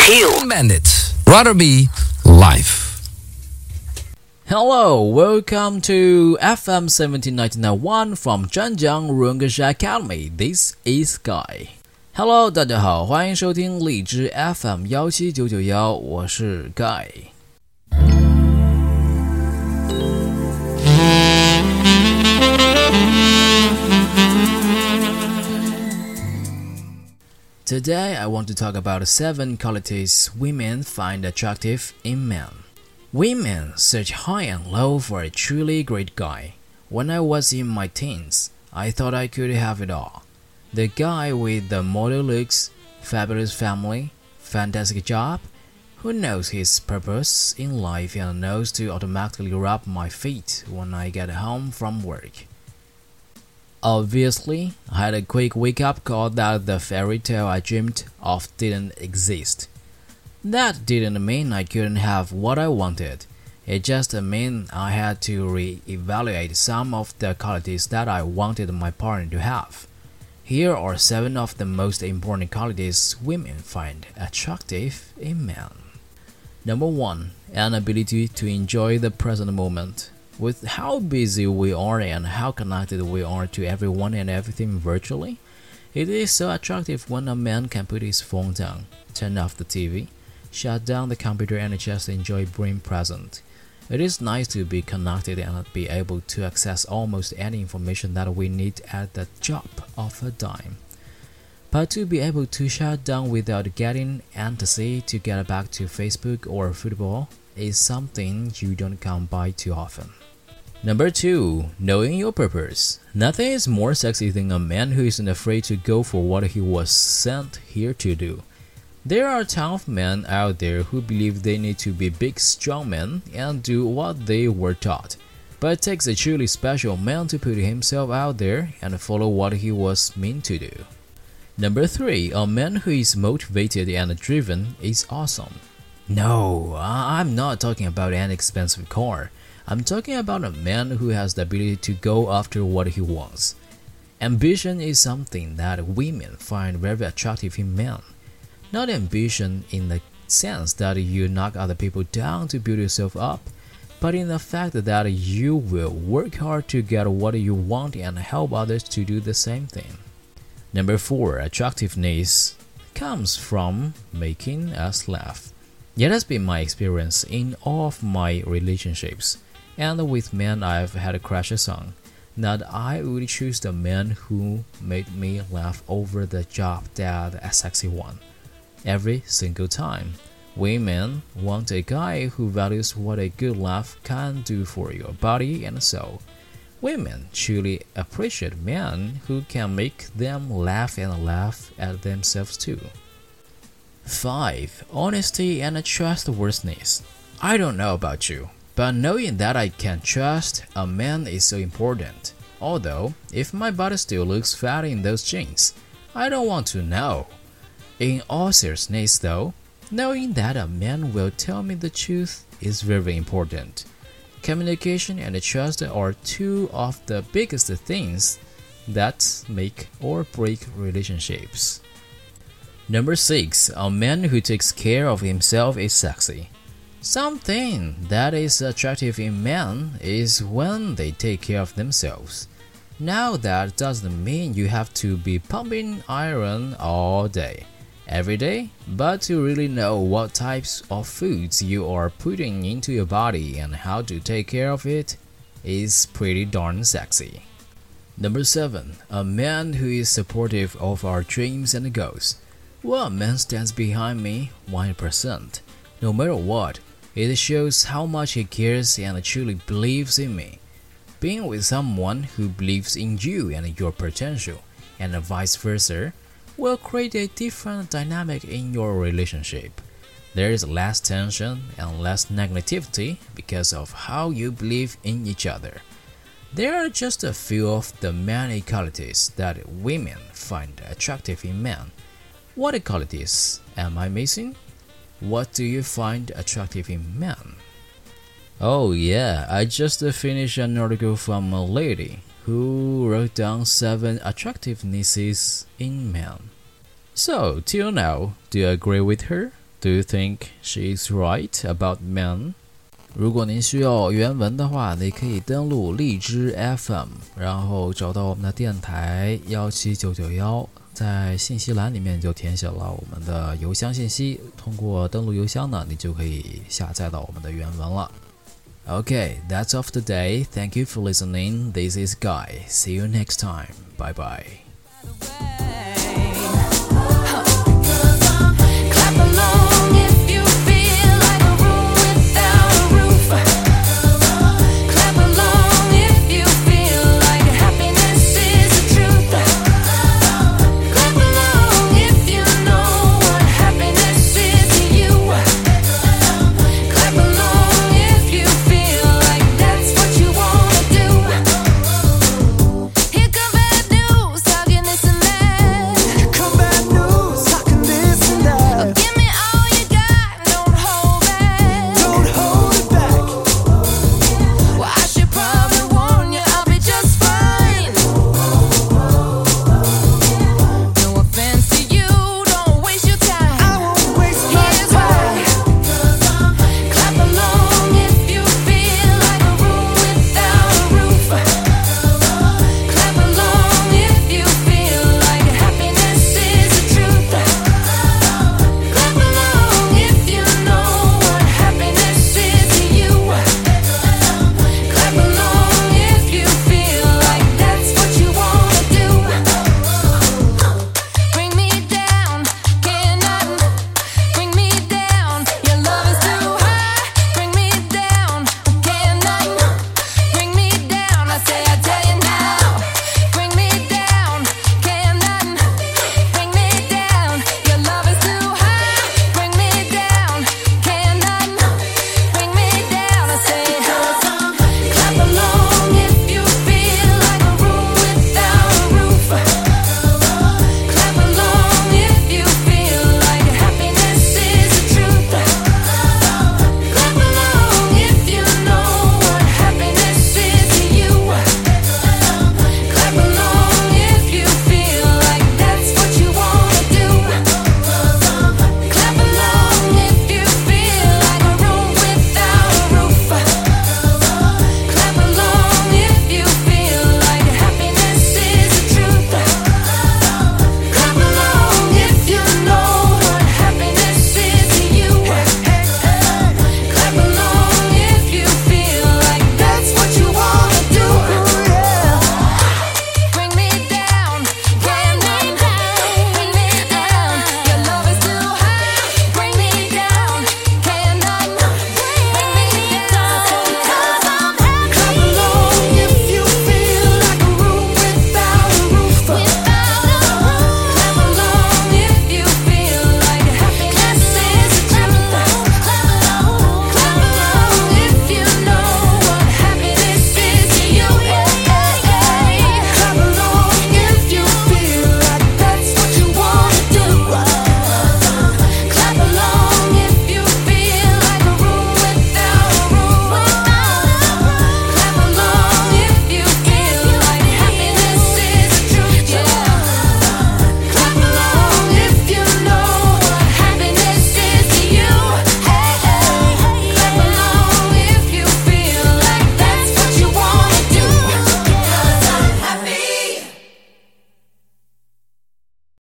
Hill Bandit, Rather Be Life. Hello, welcome to FM 17991 from Zhanjiang Rungesh Academy. This is Guy. Hello， 大家好，欢迎收听荔枝 FM 17991，我是 Guy。Today, I want to talk about 7 qualities women find attractive in men. Women search high and low for a truly great guy. When I was in my teens, I thought I could have it all. The guy with the model looks, fabulous family, fantastic job, who knows his purpose in life and knows to automatically rub my feet when I get home from work. Obviously, I had a quick wake-up call that the fairy tale I dreamed of didn't exist. That didn't mean I couldn't have what I wanted. It just meant I had to re-evaluate some of the qualities that I wanted my partner to have. Here are 7 of the most important qualities women find attractive in men. Number 1. An ability to enjoy the present moment. With how busy we are and how connected we are to everyone and everything virtually, it is so attractive when a man can put his phone down, turn off the TV, shut down the computer and just enjoy being present. It is nice to be connected and be able to access almost any information that we need at the drop of a dime. But to be able to shut down without getting antsy to get back to Facebook or football is something you don't come by too often. Number 2. Knowing your purpose. Nothing is more sexy than a man who isn't afraid to go for what he was sent here to do. There are tough men out there who believe they need to be big, strong men and do what they were taught. But it takes a truly special man to put himself out there and follow what he was meant to do. Number 3. A man who is motivated and driven is awesome. No, I'm not talking about an expensive car. I'm talking about a man who has the ability to go after what he wants. Ambition is something that women find very attractive in men. Not ambition in the sense that you knock other people down to build yourself up, but in the fact that you will work hard to get what you want and help others to do the same thing. Number 4. Attractiveness comes from making us laugh. It has been my experience in all of my relationships, and with men I've had crushes on, that I would choose the man who made me laugh over the job dad a sexy one. Every single time. Women want a guy who values what a good laugh can do for your body and soul. Women truly appreciate men who can make them laugh and laugh at themselves too. 5. Honesty and trustworthiness. I don't know about you, but knowing that I can trust a man is so important. Although, if my body still looks fat in those jeans, I don't want to know. In all seriousness though, knowing that a man will tell me the truth is very important. Communication and trust are 2 of the biggest things that make or break relationships. Number 6. A man who takes care of himself is sexy. Something that is attractive in men is when they take care of themselves. Now that doesn't mean you have to be pumping iron all day, every day, but to really know what types of foods you are putting into your body and how to take care of it is pretty darn sexy. Number 7. A man who is supportive of our dreams and goals. Well, a man stands behind me 100%. No matter what, it shows how much he cares and truly believes in me. Being with someone who believes in you and your potential, and vice versa, will create a different dynamic in your relationship. There is less tension and less negativity because of how you believe in each other. There are just a few of the many qualities that women find attractive in men. What qualities am I missing? What do you find attractive in men? Oh yeah, I just finished an article from a lady who wrote down 7 attractivenesses in men. So, till now, do you agree with her? Do you think she is right about men? 如果您需要原文的话，你可以登录荔枝 FM， 然后找到我们的电台17991，在信息栏里面就填写了我们的邮箱信息，通过登录邮箱呢，你就可以下载到我们的原文了。Okay, that's all for today. Thank you for listening. This is Guy. See you next time. Bye bye.